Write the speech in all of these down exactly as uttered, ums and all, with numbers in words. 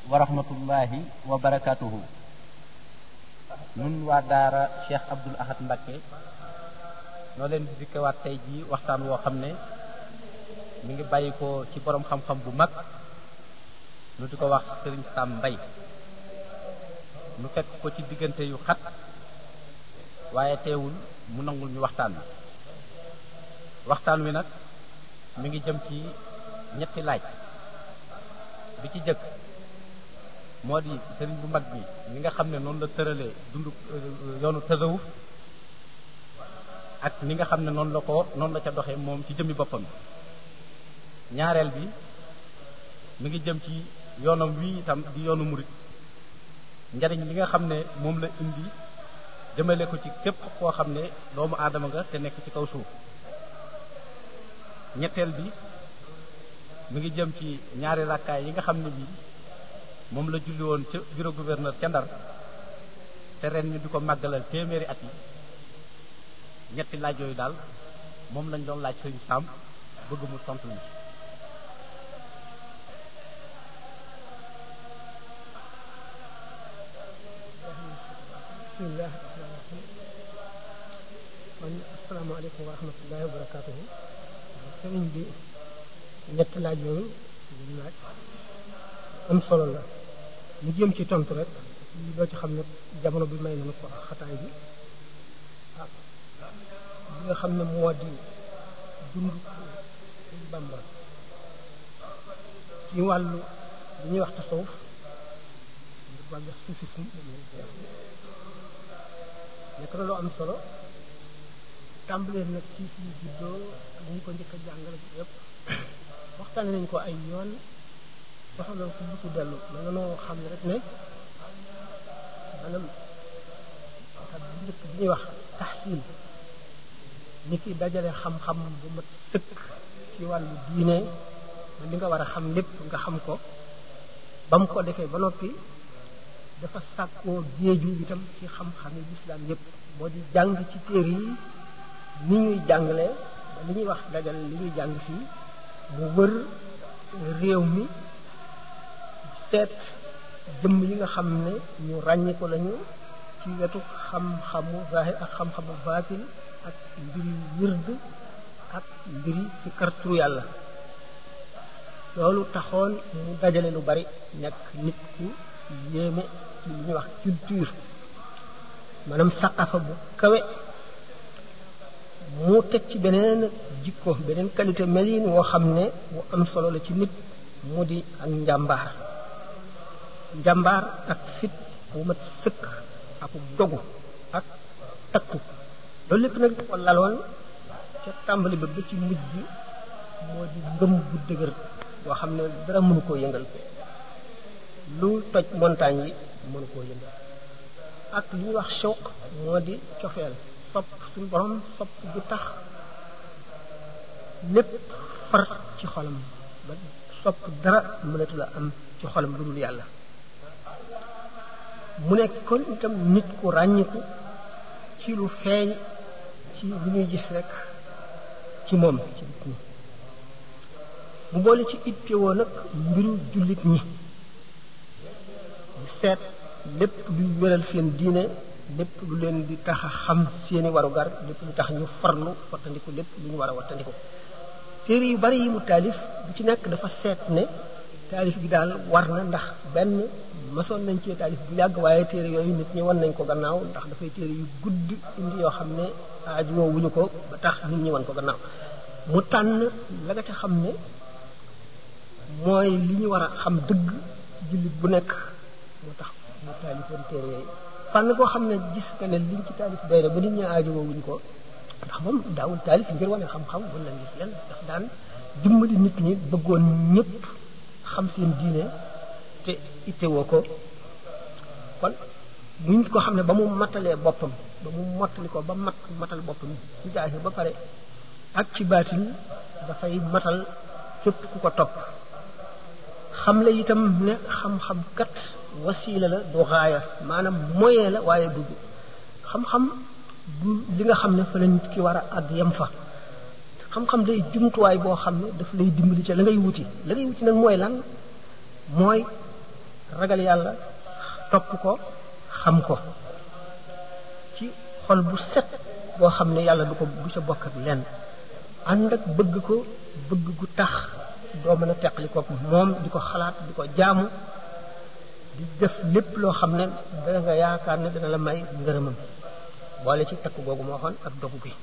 wa rahmatullahi wa barakatuhu. nun waa daara Cheikh Abdoul Ahad Mbacké noo leen di dikkewaat tey jii waxtaan woo xam ne mi ngi bàyyi ko ci borom xam-xam bu mag nu di ko wax Serigne Sam Mbaye nu fekk ko ci diggante yu xat waaye teewul mu nangul ñu waxtaan wi waxtaan wi nag mi ngi jëm ci ñetti laaj bi ci jëkk moo di sëriñ bu mag bi li nga xam ne noonu la tëralee dundu yoonu tasawuf ak ni nga xam ne noonu la ko noonu la ca doxee moom ci jëmmi boppam ñaareel bi mi ngi jëm ci yoonam wii itam di yoonu murit njariñ li nga xam ne moom la indi jëmale ko ci képp koo xam ne doomu aadama nga te nekk ci kaw suuf ñetteel bi mi ngi jëm ci ñaari rakkaay yi nga xam ne bii moom la julli woon ca bureau gouverneur ca Ndar te ren ñu di ko màggalal téeméeri at yi ñetti laaj yooyu daal moom lañ doon laaj Sëriñ Sam bëgg mu tontu ñu bismillah man asalaamaaleykum wa rahmatullahi wa barakatuhu sëriñ bi ñetti laaj yooyu ñu laaj am solo la mu jëm ci tontu rek li doo ci xam ne jamono bi may nañu ko xataay bi ah li nga xam ne moo di dund Bamba ci wàllu li ñuy wax tasawuf wàllu soufisme nekk na lu am solo tàmbalee nag ci fii juddoo ak ñu ko njëkk a jàngale bi yëpp waxtaane nañ ko ay yoon soxla ko bu ci dellu ma nga noo xam ne rek ne maanaam ak bu njëkk bi ñuy wax taxsil ni ki dajale xam-xam bu mat sëkk ci wàllu diine li nga war a xam lépp nga xam ko ba mu ko defee ba noppi dafa sàkkoo géeju itam ci xam-xami lislaam yépp moo di jàng ci téere yi ni ñuy jàngale ba li ñuy wax dajale li ñuy jàng fii mu wër réew mi seet jëmm yi nga xam ne ñu ràññi ko lañu ci wetu xam-xamu zahir ak xam-xamu baatin ak mbiri wird ak mbiri si karturu yàlla loolu taxoon mu dajale lu bari nekk nit ku yéeme ci li ñuy wax culture maanaam saqafa bu kawe mu teg ci beneen jikko beneen qualité melin woo xam ne bu am solo la ci nit mu di ak njàmbaar njàmbaar ak fit bu mat sëkk ak dogu ak takku loolu lépp nag ko laloon ca tàmbali ba ba ci mujj bi moo di ngëm bu dëgër boo xam ne dara mënu koo yëngal lu toj montagne yi mënu koo yëngal ak li ñuy wax shawq moo di cofeel sopp suñu borom sopp bu tax lépp far ci xolam ba sopp dara mënatu la am ci xolam lu dul yàlla mu nekk kon itam nit ku ràññiku ci lu feeñ ci lu ñuy gis rek ci moom ci nit ñi mu boole ci ittewoo nag mbiru jullit ñi seet lépp luy wéral seen diine lépp lu leen di tax a xam seeni warugar lépp lu tax ñu farlu wattandiku lépp lu ñu war a wattandiku téere yu bari yi mu taalif bu ci nekk dafa seet ne taalif gi daal war na ndax benn masoon nañ ci taalif bu yàgg waaye téere yooyu nit ñi wan nañ ko gannaaw ndax dafay téere yu gudd indi yoo xam ne aajowoo wuñu ko ba tax nit ñi wan ko gannaaw mu tànn la nga ca xam ne mooy li ñu war a xam dëgg jullit bu nekk moo tax mu taalifoon téere yooyu fànn koo xam ne gis nga ne liñ ci taalif doy na ba nit ñi aajowoo wuñ ko ndax moom daawul taalif ngir wane xam-xam wala la ngir leen ndax daan dimbali nit ñi bëggoon ñëpp xam seen diine te ittewoo ko kon muñ ko xam ne ba mu matalee boppam ba mu mottali ko ba mat matal boppam ci zaahir ba pare ak ci baatin dafay matal képp ku ko topp xam la itam ne xam-xam kat wasiila la du gaaya maanaam moyen la waaye du xam-xam du li nga xam ne fa la nit ki war a àgg yem fa xam-xam day jumtuwaay boo xam ne daf lay dimbali ca la ngay wuti la ngay wuti nag mooy lan mooy ragal yàlla topp ko xam ko ci xol bu set boo xam ne yàlla du ko du ca bokk ak lenn ànd ak bëgg ko bëgg gu tax doo mën a teqali ko moom di ko xalaat di ko jaamu di def lépp loo xam ne dana nga yaakaar ne dana la may ngërëmam boole ci takk googu moo waxoon ak dogu gi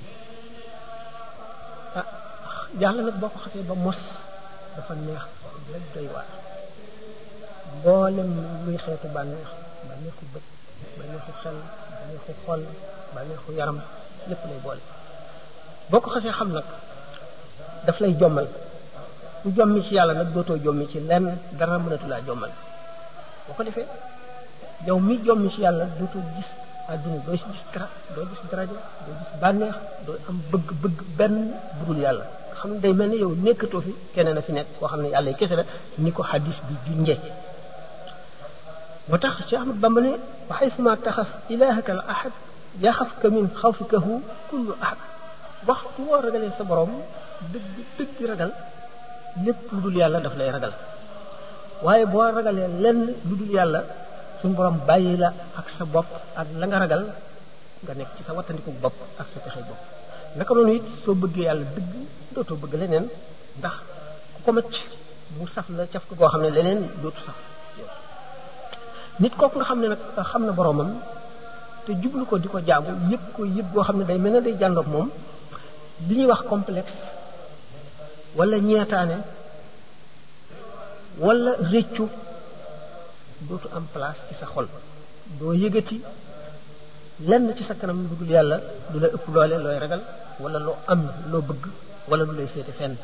ah yàlla nag boo ko xasee ba mos dafa neex rek doy waar mboolem luy xeetu bànneex bànneexu bët bànneexu xel bànneexu xol bànneexu yaram lépp lay boole boo ko xasee xam nag daf lay jommal ku jommi ci yàlla nag dootoo jommi ci lenn dara mënatu laa jommal boo ko defee yow mi jommi ci yàlla dootoo gis àdduna doo si gis dara doo gis daraja doo gis bànneex doo am bëgg-bëgg benn budul yàlla xam ne day mel ni yow nekkatoo fi keneen a fi nekk koo xam ne yàlla kese la ni ko xadis bi junjee moo tax Cheikh Ahmad Bamba ne wa xaysuma taxaf ilahaka al ahad yaxafka min xawfikahu kullu ahad waxtu woo ragalee sa borom dëgg dëgg ragal lépp lu dul yàlla daf lay ragal waaye boo ragalee lenn lu dul yàlla suñu borom bàyyi la ak sa bopp ak la nga ragal nga nekk ci sa wattandiku bopp ak sa pexe bopp naka noonu it soo bëggee yàlla dëgg dootoo bëgg leneen ndax ku ko macc mu saf la caf ko koo xam ne leneen dootu saf nit kooku nga xam ne nag xam na boromam te jublu ko di ko jaamu yëg ko yëg goo xam ne day mel ne day jàndoog moom li ñuy wax complexe wala ñeetaane wala réccu dootu am place ci sa xol doo yëgati lenn ci sa kanam lu dul yàlla du la ëpp doole looy ragal wala loo am loo bëgg wala lu lay féete fenn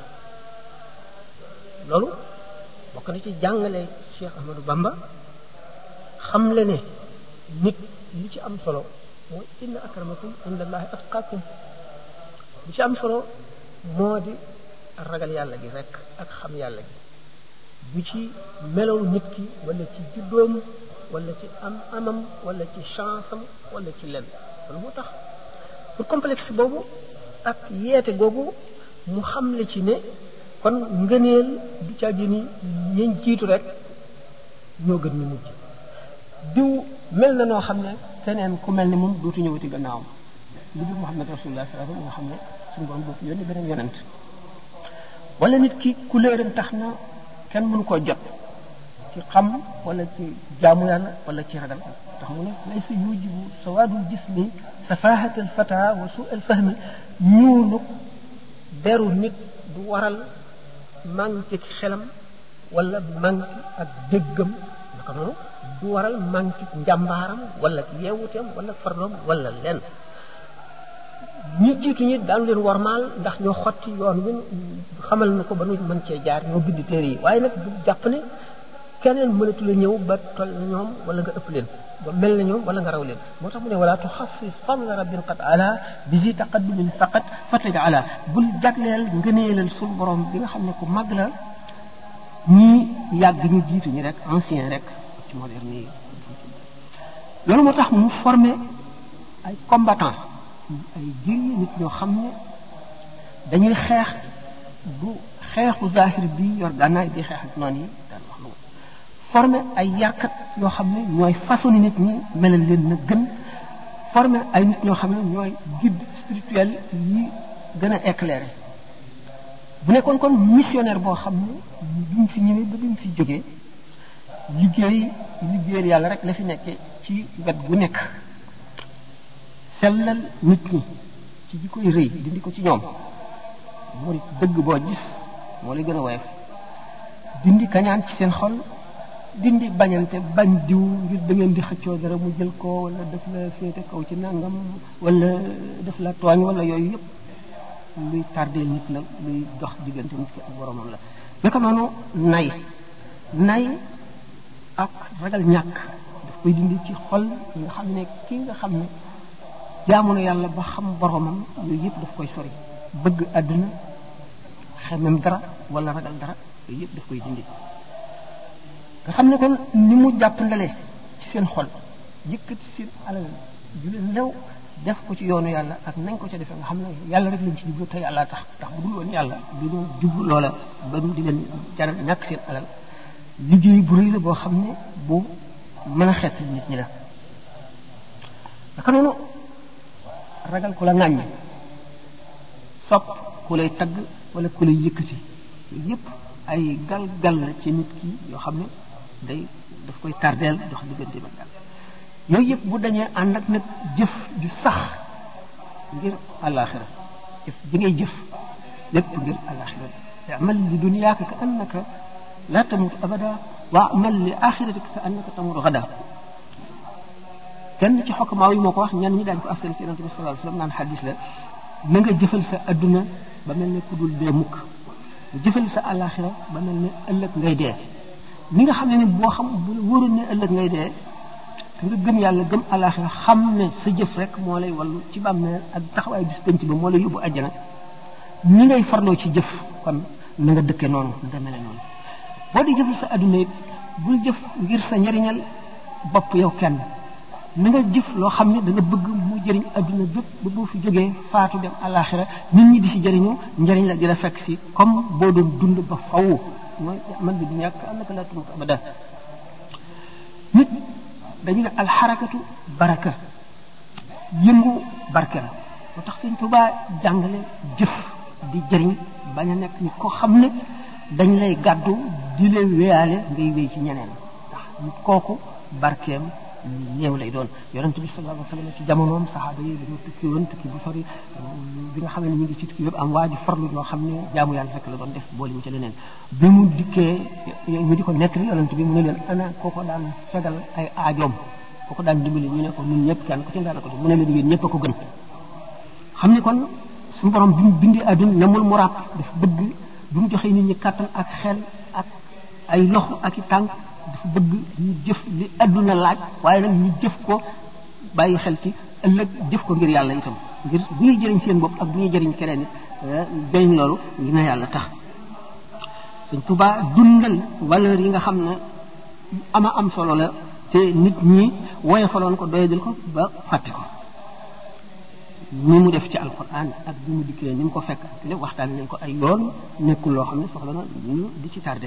loolu bokk na ci jàngale Cheikh Ahmadou Bamba xam le ne nit li ci am solo mooy inna akramakum indallahi atqakum li ci am solo moo di ragal yàlla gi rek ak xam yàlla gi bu ci melow nit ki wala ci juddoom wala ci am amam wala ci chance am wala ci lenn loolu moo tax pour complexe boobu ak yeete googu mu xamle ci ne kon ngëneel du caagi ni ñeñ jiitu rek ñoo gën ñu mujj diw mel na noo xam ne keneen ku mel ni moom dootu ñëwati gannaawam lu dul Muhammad rasulullah sallallahu alayhi wa sallam nga xam ne suñu borom dootu yónni beneen yonent wala nit ki couleuram tax na kenn mënu koo jot ci xam wala ci jaamu yàlla wala ci ragal tax mu ne laysa yujibu sawaadul jismi safahatal fata wa su al fahmi ñuulu deru nit du waral manqué xelam wala manqué ak déggam naka noonu du waral manqué njàmbaaram wala yeewuteem wala farloom wala lenn ñi jiitu ñi daanu leen warmaal ndax ñoo xotti yoon wi xamal na ko ba nu mën cee jaar ñoo bind téere yi waaye nag bu jàpp ne keneen mënatu la ñëw ba toll na ñoom wala nga ëpp leen ba mel na ñoom wala nga raw leen moo tax mu ne wala tuxassis fadla rabbin qad ala bi zi taqaddumin faqat fataj ala bul jagleel ngëneelal suñu borom bi nga xam ne ku mag la ñii yàgg ñu jiitu ñi rek ancien rek ci moderne yi loolu moo tax mu formé ay combattant ay guerrier nit ñoo xam ne dañuy xeex du xeexu zahir bi yor gànnaay di xeex ak noonu yi daan wax lu formé ay yarkat yoo xam ne ñooy façonné nit ñi melal leen na gën formé ay nit ñoo xam ne ñooy guide spirituel yi gën a éclairé bu nekkoon kon missionnaire boo xam ne bi mu fi ñëwee ba bi mu fi jógee liggéey liggéeyal yàlla rek la fi nekkee ci wet gu nekk sellal nit ñi ci ji koy rëy dindi ko ci ñoom moo di dëgg boo gis moo lay gën a woyof dindi kañaan ci seen xol dindi bañante bañ diw ngir da ngeen di xëccoo dara mu jël ko wala daf la féete kaw ci nangam wala daf la tooñ wala yooyu yëpp luy tardeel nit la luy dox diggante nit ki ak boromam la naka noonu nay nay ak ragal ñàkk daf koy dindi ci xol yi nga xam ne ki nga xam ne jaamu na yàlla ba xam boromam yooyu yëpp daf koy sori bëgg àdduna xemem dara wala ragal dara yooyu yëpp daf koy dindi nga xam ne kon ni mu jàpp ndale ci seen xol yëkkati seen alal ju leen lew def ko ci yoonu yàlla ak nañ ko ca defee nga xam ne yàlla rek lañ ci jublu te yàlla tax tax bu dul woon yàlla du doon jublu loola ba mu di leen jaral ñàkk seen alal liggéey bu rëy la boo xam ne bu mën a xeet nit ñi la naka noonu ragal ku la ŋàññ sopp ku lay tagg wala ku lay yëkkati yooyu yëpp ay gal-gal la ci nit ki yoo xam ne day daf koy tardeel dox diggante ba gal yooyu yëpp bu dañee ànd ak nag jëf ju sax ngir àllaaxira jëf bi ngay jëf lépp ngir àllaaxira amal li dunyaaka ka annaka la tamut abada wa amal li axiratika ka annaka tamut gada kenn ci xokkamaaw yi moo ko wax ñenn ñi daañu ko askan ci yonente bi sallallahu alayhi wasallam naan xadis la na nga jëfal sa adduna ba mel ne ku dul dee mukk nga jëfal sa àllaaxira ba mel ne ëllëg ngay dee ni nga xam ne ni boo xam bu wóoroon ne ëllëg ngay dee te nga gëm yàlla gëm àllaaxira xam ne sa jëf rek moo lay wallu ci bàmmeel ak taxawaay bis penc ba moo lay yóbbu àjjana ni ngay farloo ci jëf kon na nga dëkke noonu nga mele noonu boo di jëfal sa adduna it bul jëf ngir sa njariñal bopp yow kenn na nga jëf loo xam ne da nga bëgg mu jëriñ adduna bépp ba boo fi jógee faatu dem àllaaxira nit ñi di si jëriñu njëriñ la di la fekk si comme boo doon dund ba faw mooy man bi du ñàkk am naka la tumut abada nit dañu ne alxarakatu baraka yëngu barke la moo tax Sëñ Tuubaa jàngale jëf di jëriñ bañ a nekk nit koo xam ne dañ lay gàddu di leen wéyaale ngay wéy ci ñeneen ndax nit kooku barkeem néew lay doon yonent bi sallallahu alayhi wasallam ci jamonoom saxaaba yi dañoo tukki woon tukki bu sori bi nga xam ne ñu ngi ci tukki yëpp am waa ji farlu loo xam ne jaamu yàlla fekk la doon def boole mu ci leneen bi mu dikkee ñu di ko nettali yonent bi mu ne leen ana kooko daan fegal ay aajoom kooko daan dimbali ñu ne ko ñun ñëpp kenn ku ci daan ko def mu ne leen yéen ñëpp a ko gën xam ne kon suñu borom bi mu bindee àdduna namul mu ràpp dafa bëgg bi mu joxee nit ñi kàttan ak xel ak ay loxo ak i tànk dafa bëgg ñu jëf li àdduna laaj waaye nag ñu jëf ko bàyyi xel ci ëllëg jëf ko ngir yàlla itam ngir bu ñuy jëriñ seen bopp ak bu ñuy jëriñ keneen it jëriñ loolu li na yàlla tax Sëñ Tuubaa dundal valeur yi nga xam ne ama am solo la te nit ñi woyofaloon ko doyadil ko ba fàtte ko ni mu def ci alquran ak bi mu dikkee ni mu ko fekk ak lépp waxtaan nañ ko ay yoon nekkul loo xam ne soxla na ñu di ci tardé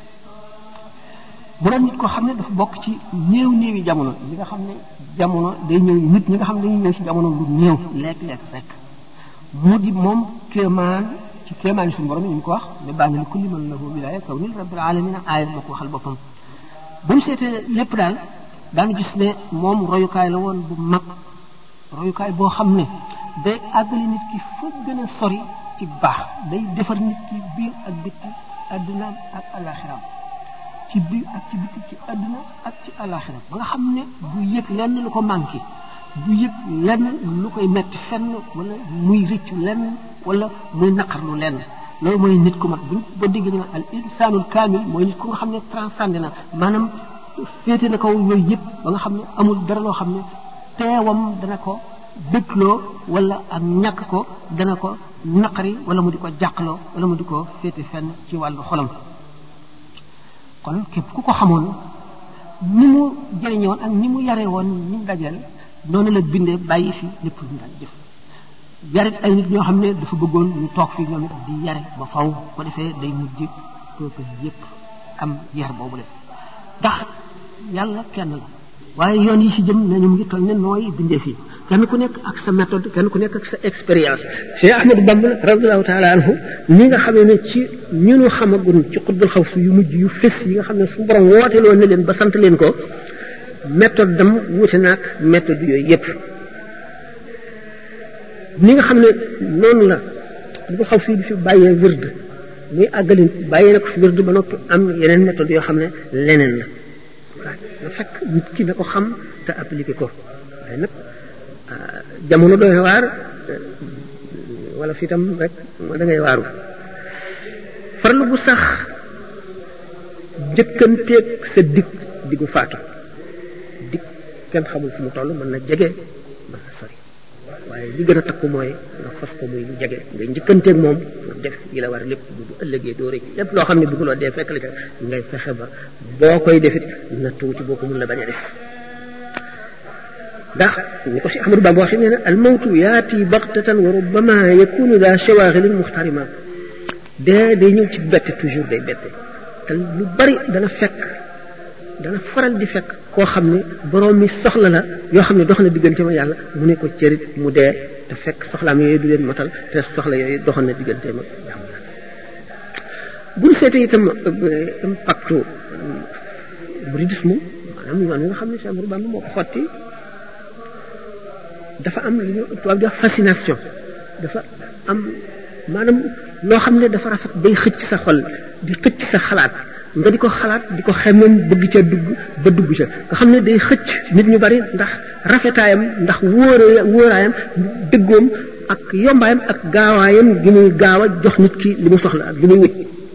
bu doon nit koo xam ne dafa bokk ci néew néewi jamono li nga xam ne jamono day ñëw nit ñi nga xam ne dañuy ñëw ci jamono lu néew lekk-lekk rek mu di moom kéemaan ci kéemaan yi suñu borom yi ñu ko wax ne baa nga li kulli man lahu wilaaya kaw nil rabbil alamin aaya moo ko waxal boppam bu mu seetee lépp daal daanu gis ne moom royukaay la woon bu mag royukaay boo xam ne day àggali nit ki fa gën a sori ci baax day defar nit ki biir ak bitti addunaam ak alaxiraam ci biir ak ci bitti ci adduna ak ci alaxira ba nga xam ne du yëg lenn lu ko manqué du yëg lenn lu koy metti fenn wala muy rëccu lenn wala muy naqarlu lenn loolu mooy nit ku mat buñ ba dégg ñu al insanul kaamil mooy nit ku nga xam ne transcendé na maanaam féete na kaw yooyu yëpp ba nga xam ne amul dara loo xam ne teewam dana ko bëggloo wala ak ñàkk ko dana ko naqari wala mu di ko jàqloo wala mu di ko féete fenn ci wàllu xolam kon képp ku ko xamoon ni mu jëriñe woon ak ni mu yare woon ni mu dajeel noonu la bindee bàyyi fi lépp lu mu daan jëf yarit ay nit ñoo xam ne dafa bëggoon ñu toog fii ñoom it di yare ba faw ko defee day mujj peuple yépp am yar boobu la ndax yàlla kenn la waaye yoon yi ci jëm nañu mu ngi toll ne nooy bindee fii kenn ku nekk ak sa méthode kenn ku nekk ak sa expérience Cheikh Ahmadou Bamba radiyallahu taala anhu ni nga xamee ne ci ñu nu xamagun ci xutbul xaw si yu mujj yu fés yi nga xam ne su borom woote loon ne leen ba sant leen ko méthode dam wuute naag méthode yooyu yépp ni nga xam ne noonu la xutbul xaw si bi fi bàyyee wird muy àggalin bàyyee na ko fi wird ba noppi am yeneen méthode yoo xam ne leneen la waaw na fekk nit ki na ko xam te appliqué ko waaye nag jamono doy na waar wala fi tam rek da ngay waaru farlu bu sax jëkkanteeg sa dig diggu faatu dig kenn xamul fu mu toll mën na jege mën na sori waaye li gën a takku mooy nga fas ko muy lu jege nga njëkkanteeg moom pour def yi la war lépp bu ëllëgee doo rek lépp loo xam ne bëgguloo dee fekk la ca ngay fexe ba boo koy defit na tuuti boo ko mun la bañ a def ndax ni ko si Ahmadou Bamba waxee nee na al mawtu yaati baxtatan wa rubbama yakunu daa shawaghilin muxtarima dee day ñëw ci bette toujours day bette te lu bari dana fekk dana faral di fekk koo xam ne borom mi soxla la yoo xam ne dox na diggante ma yàlla mu ne ko cërit mu dee te fekk soxlaam yooyu du leen matal te soxla yooyu doxoon na diggante ma yàlla bu ñu seetee itam impactu mouridisme maanaam yoon wi nga xam ne Cheikh Ahmadou Bamba moo ko xotti dafa am lu ñu tubaab di wax fascination dafa am maanaam loo xam ne dafa rafet bay xëcc sa xol di xëcc sa xalaat nga di ko xalaat di ko xemmeem bëgg ca dugg ba dugg ca nga xam ne day xëcc nit ñu bari ndax rafetaayam ndax wóora wóoraayam dëggoom ak yombaayam ak gaawaayam gi muy gaaw a jox nit ki li mu soxla ak li muy wut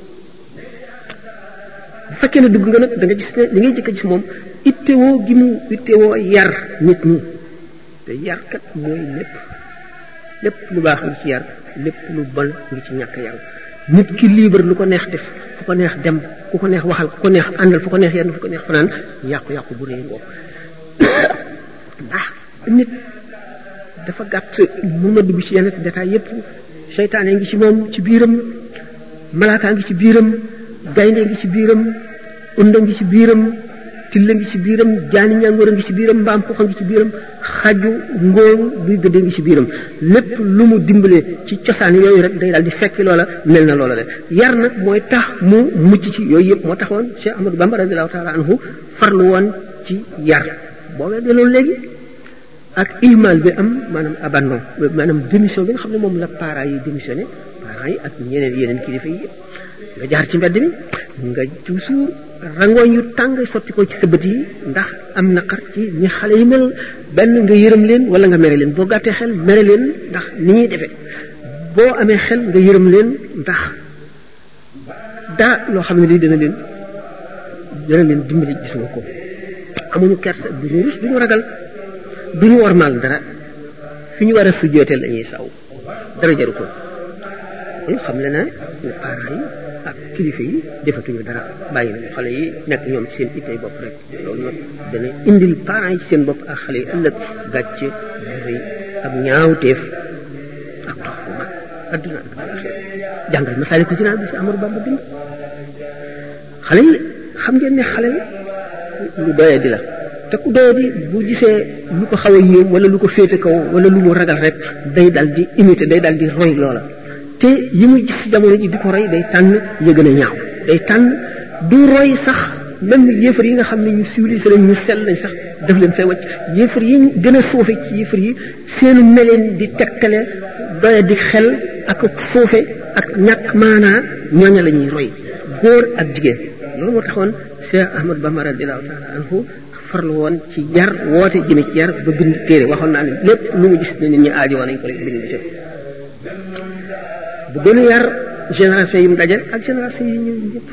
bu fekkee ne dugg nga nag da nga gis ne li ngay jëkk a gis moom ittewoo gi mu ittewoo yar nit ñi te yar kat mooy lépp lépp lu baax ngi ci yar lépp lu bon ngi ci ñàkk yaru nit ki libre lu ko neex def fu ko neex dem ku ko neex waxal ku ko neex àndal fu ko neex yenn fu ko neex fanaan yàqu-yàqu bu réy ngoog ndax nit dafa gàtt mun na dugg ci yenn détail yépp seytaane ngi ci moom ci biiram malaakaa ngi ci biiram gaynde ngi ci biiram unda ngi ci biiram tilla ngi ci biiram jaani ñàngoor a ngi ci biiram mbaam xuxa ngi ci biiram xaju ngóoru buy gëdde ngi ci biiram lépp lu mu dimbale ci cosaan yooyu rek day daal di fekki loola mel na loola le yar nag mooy tax mu mucc ci yooyu yëpp moo taxoon Cheikh Ahmadou Bamba radiyallahu taala anhu farlu woon ci yar boo weddee loolu léegi ak ihmal bi am maanaam abandon maanaam démission bi nga xam ne moom la parents yi démissionné parents yi ak ñeneen yeneen kilifa yi nga jaar ci mbedd mi nga toujours rangooñ yu tàng sotti ko ci sa bët yi ndax am naqar ci ñi xale yi mel benn nga yërëm leen wala nga mere leen boo gàttee xel mere leen ndax ni ñuy defee boo amee xel nga yërëm leen ndax daa loo xam ne lii dana leen dana leen dimbali gis nga ko amuñu kersa du ñu rus du ñu ragal du ñu wormaal dara fi ñu war a sujjooteel lañuy saw dara jaru ko kon xam le na ne parents yi ak kilifa yi defatuñu dara bàyyi nañu xale yi nekk ñoom ci seen ittey bopp rek loolu nag dana indil parents yi ci seen bopp ak xale yi ëllëg gàcce rëy ak ñaawteef ak dox bu mag adduna ak alaxira jàngal Masaalikul Jinaan bi fi Amadou Bamba bind xale yi xam ngeen ne xale lu doye di la te ku doye di bu gisee lu ko xaw a yéem wala lu ko féete kaw wala lu mu ragal rek day dal di imiter day dal di roy loola te yi muy gis ci jamono ji di ko roy day tànn ya gën a ñaaw day tànn du roy sax même yéefar yi nga xam ne ñu civilisé lañ ñu sell lañ sax def leen fay wacc yéefar yi gën a suufe ci yéefar yi seenu meleen di tegtale doya di xel ak suufe ak ñàkk maanaa ñooña la ñuy roy góor ak jigéen loolu moo taxoon Cheikh Ahmadou Bamba radiyallahu taala anhu farlu woon ci yar woote jëme ci yar ba bind téere waxoon naa ne lépp lu mu gis ne nit ñi aajo woon nañ ko rek bind ci bu gën a yar génération yi mu daje ak génération yi ñëw ñëpp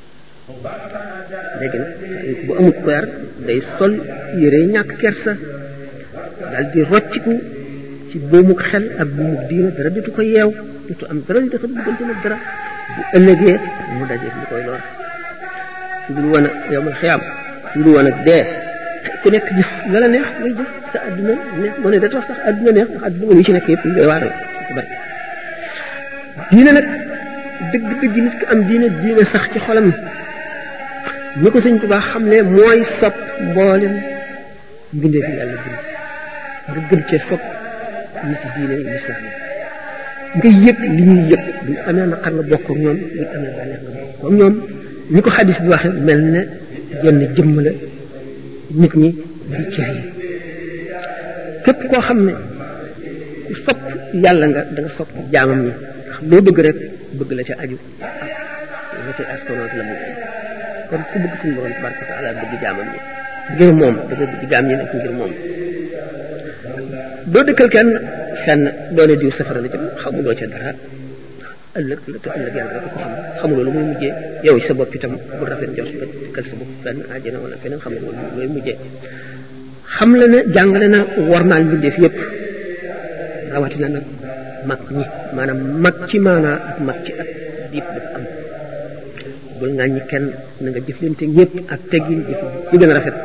léegi nag bu amut ko yar day sol yére ñàkk kersa dal di rocciku ci buumuk xel ak buumuk diina dara dutu ko yeew dutu am dara li dafa duggante nag dara bu ëllëgee mu daje li koy lor su dul woon ak yowmal xiyaam su dul woon ak dee ku nekk jëf la la neex ngay jëf sa adduna neex moo ne da tax sax adduna neex ndax adduna li ci nekk yëpp doy waaral ko bari diine nag dëgg dëgg nit ki am diine diine sax ci xolam ni ko sëñ Tuubaa xam ne mooy sopp mboolem mbindee fi yàlla bind nga gën cee sopp nit diine lislaam nga yëg li ñuy yëg buñ amee naqar nga bokk ak ñoom buñ amee bànneex nga bokk ak ñoom ni ko xadis bi waxee mel ne jenn jëmm la nit ñi di cër yi képp koo xam ne ku sopp yàlla nga da nga sopp jaamam ñi ndax loo bëgg rek bëgg la ca aju ak la ca askanoot la mu kon ku bëgg suñu borom tabaraka wa taala bëgg jaamam ñi ngir moom da nga bëgg jaam ñi nekk ngir moom doo dëkkal kenn fenn doone diw safara la jëm xamuloo ca dara ëllëg la te ëllëg yàlla rek ko xam xamuloo lu muy mujjee yow sa bopp itam bu rafet jot nga dëkkal sa bopp fenn àjjana wala feneen xamuloo lu muy mujjee xam la ne jàngale na warmaal mbindeef yépp rawatina nag mag ñi maanaam mag ci maanaa ak mag ci at diip dafa am bul ŋàññi kenn na nga jëflante ñëpp ak teggin jëf yu gën a rafet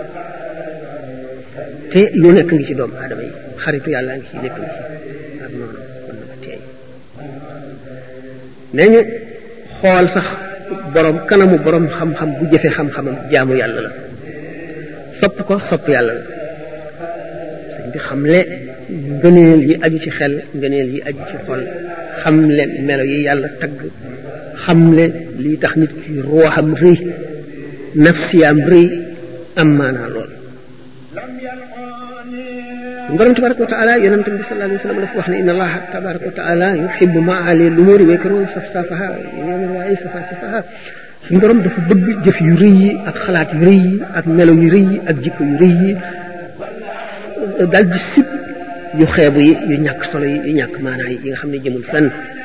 te lu nekk ngi ci doomu aadama yi xaritu yàlla ngi ci lépp ngi ci ak noonu kon nag teey nee ñu xool sax borom kanamu borom xam-xam bu jëfe xam-xamam jaamu yàlla la sopp ko sopp yàlla la sëñ bi xamle ngëneel yi aju ci xel ngëneel yi aju ci xol xamle melo yi yàlla tagg xamle lii tax nit ki ruuxam rëy nafsiyaam rëy am maanaa lool borom tabaraka wa taala yonent bi sallallahu alayhi wa sallam dafa wax ne inna allaha tabaraka wa taala yuhibbu maali lumuri wa yakrahu safsafaha yoomen waaye safasafaha suñu borom dafa bëgg jëf yu rëy yi ak xalaat yu rëy yi ak melo yu rëy yi ak jikko yu rëy yi daal di sib yu xeebu yi yu ñàkk solo yi yu ñàkk maanaa yi yi nga xam ne jëmul fenn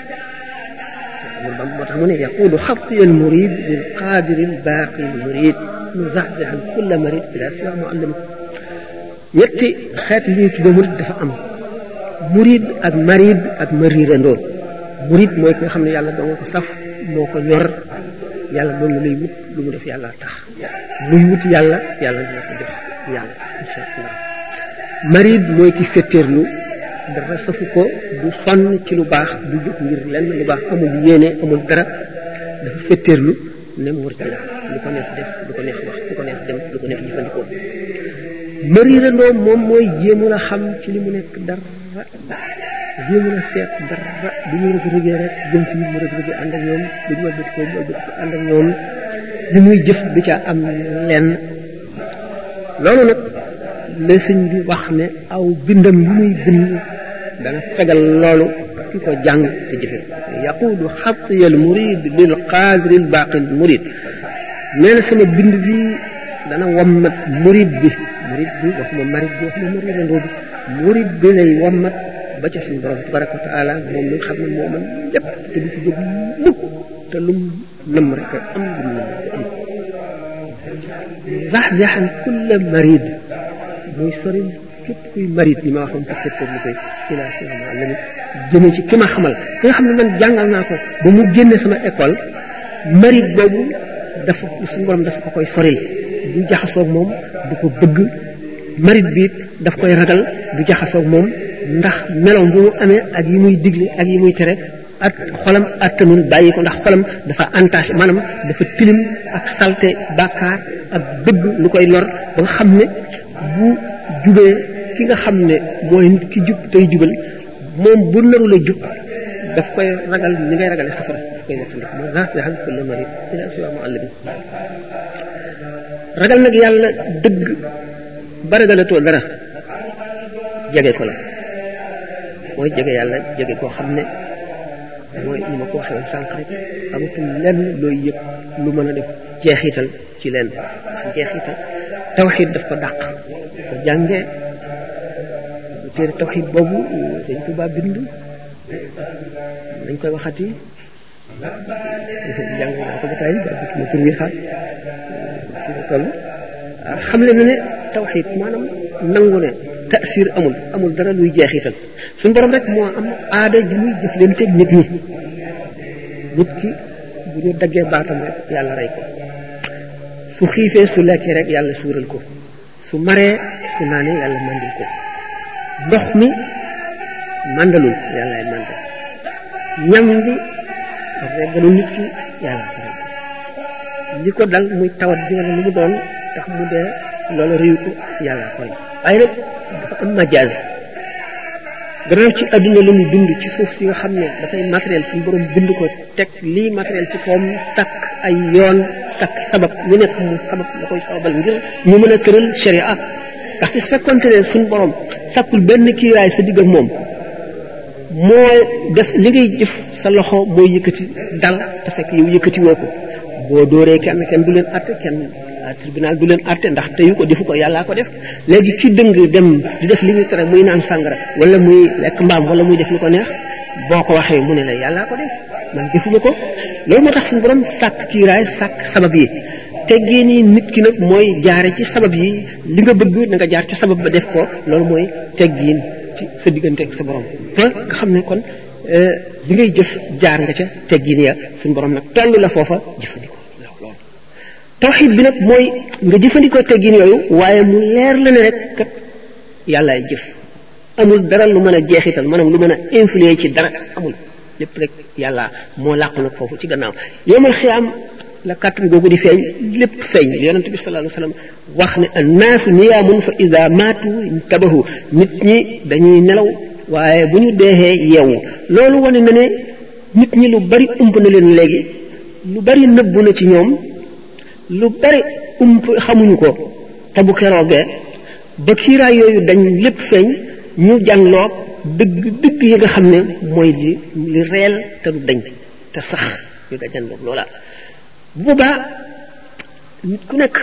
moo tax mu ne yaqulu xatiya al murid lil qaadiri al baaqi al murid muzaxzaxan kulla marid bila siwa muallim ñetti xeet li ñuy tudde murid dafa am murid ak marid ak mariirandoo murid mooy ki nga xam ne yàlla doo nga ko saf moo ko ñor yàlla doon na lay wut lu mu def yàlla tax luy wut yàlla yàlla dina ko jox yàlla insha allah marid mooy ki fetteerlu dara safu ko du sonn ci lu baax du jóg ngir lenn lu baax amul yéene amul dara dafa fetteerlu ne murid la lu ko neex def lu ko neex wax lu ko neex dem lu ko neex jëfandikoo mariirandoo moom mooy jéemu la xam ci li mu nekk dara jéemu la seet dara du ñu rëg rëgee rek jëm fi mu rëg rëgee ànd ak ñoom du ñu wëlbati ko mu wëlbati ko ànd ak ñoom li muy jëf du ca am lenn loolu nag la sëñ bi wax ne aw bindam li muy bind dana fegal loolu ki ko jàng te jëfe yaqulu xatiyal murid lil qaadiril baaqil murid nee na sama bind bi dana wammat murid bi murid bi waxuma marid bi waxuma mariirandoo bi murid bi lay wammat ba ca suñu borom tabaraka wa taala moom mi nga xam ne moo mën lépp te du ci jóg mukk te lum nam rek am lum nam am zaxzaxan kulla marid muy sori képp kuy marid li ma waxoon te fekkoon li koy ila sama la ni jëme ci ki ma xamal ki nga xam ne man jàngal naa ko ba mu génne sama école marid boobu dafa suñu borom dafa ko koy soril du jaxasoog moom du ko bëgg marit bi daf koy ragal du jaxasoog moom ndax meloom bu mu amee ak yi muy digle ak yi muy tere ak xolam attanul bàyyi ko ndax xolam dafa entaché maanaam dafa tilim ak salte bàkkaar ak bëgg lu koy lor ba nga xam ne bu jubee ki nga xam ne mooy nit ki jub tey jubal moom bu naru la jub daf koy ragal ni ngay ragale safara daf koy wattandik moo zaxzaxan kulla marid ila siwa muallim ragal nag yàlla dëgg ba ragalatoo dara jege ko la mooy jege yàlla jege koo xam ne mooy ni ma ko waxee woon sànq rek amatul lenn looy yëg lu mën a def jeexital ci leen ndax jeexital tawxiid daf ko dàq soo jàngee téere tawxiid boobu Sëñ Tuubaa bind dañ koy waxati jàng naa ko ba tey ba ma tur wi xaar toll xam le na ne tawxiid maanaam nangu ne taasir amul amul dara luy jeexital suñu borom rek moo am aada ji muy jëf leen teg nit ñi nit ki bu ñu daggee baatam rek yàlla rey ko su xiifee su lekkee rek yàlla suural ko su maree su naanee yàlla mandil ko ndox mi mandalul yàllaay mandal ñam bi reggalu nit ki yàlla ko rek li ko dal muy tawat ji wala lu mu doon tax mu dee loolu réew ko yàlla koy waaye nag dafa am majaaz gannaaw ci àdduna la ñu dund ci suuf si nga xam ne dafay matériel suñu borom bind ko teg lii matériel ci kawam sàkk ay yoon sàkk sabab ñu nekk mu sabab la koy sababal ngir ñu mën a tëral sharia ndaxte su fekkoonte ne suñu borom sàkkul benn kiiraay sa digg ak moom moo def li ngay jëf sa loxo mooy yëkkati dal te fekk yow yëkkati woo ko boo dóoree kenn kenn du leen àtte kenn tribunal du leen àtte ndax teyu ko defu ko yàllaa ko def léegi ki dëng dem di def li ñu tere muy naan sàngara wala muy lekk mbaam wala muy def lu ko neex boo ko waxee mu ne la yàllaa ko def man defuma ko loolu moo tax suñu borom sàkk kiiraay sàkk sabab yi teggee nii nit ki nag mooy jaare ci sabab yi li nga bëgg na nga jaar ci sabab ba def ko loolu mooy teggiin ci sa diggante ak sa borom nga xam ne kon li ngay jëf jaar nga ca teggiin ya suñu borom nag toll la foofa jëfandikoo tawxiid bi nag mooy nga jëfandikoo teggin yooyu waaye mu leer la ne rek kat yàllaay jëf amul dara lu mën a jeexital maanaam lu mën a influer ci dara amul lépp rek yàlla moo làqu nag foofu ci gannaaw yowmal xiyaam la kàttan googu di feeñ lépp feeñ li yonent bi sallallahu alayhi wasallam wax ne annaasu niyaamun fa ida maatu tabahu nit ñi dañuy nelaw waaye bu ñu deexee yeewu loolu wane na ne nit ñi lu bari ump na leen léegi lu bari nëbbu na ci ñoom lu bari ump xamuñu ko te bu keroogee ba kiiraay yooyu dañ lépp feeñ ñu jàngloo dëgg dëgg yi nga xam ne mooy li li reel te du dañ te sax ñu nga jàngloo loola bu boobaa nit ku nekk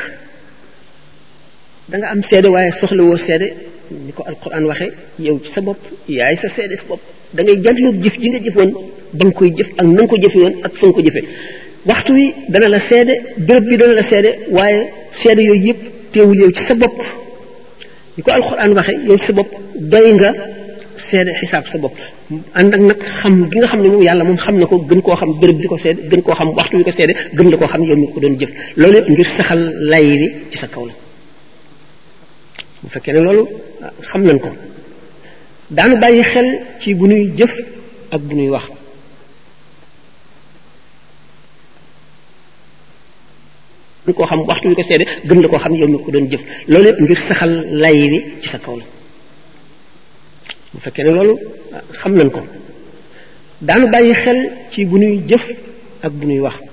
da nga am seede waaye soxlawoo seede ni ko alquran waxe yow ci sa bopp yaay sa seede sa bopp da ngay jàngloo jëf ji nga jëfoon ba nga koy jëf ak na nga ko jëfe woon ak fa nga ko jëfe waxtu wi dana la seede béréb bi dana la seede waaye seede yooyu yëpp teewul yow ci sa bopp ni ko alxuraan waxe yow ci sa bopp doy nga seede xisaab sa bopp ànd ak nag xam gi nga xam ne moom yàlla moom xam na ko gën koo xam béréb bi ko seede gën koo xam waxtu wi ko seede gën la koo xam yow mi ko doon jëf loolu yëpp ngir saxal lay wi ci sa kaw la bu fekkee ne loolu xam nañ ko daanu bàyyi xel ci bu nuy jëf ak bu nuy wax gën koo xam waxtu wi ko seede gën la koo xam yow mi ko doon jëf loolu yëpp ngir saxal lay wi ci sa kaw la bu fekkee ne loolu xam nañ ko daanu bàyyi xel ci bu nuy jëf ak bu nuy wax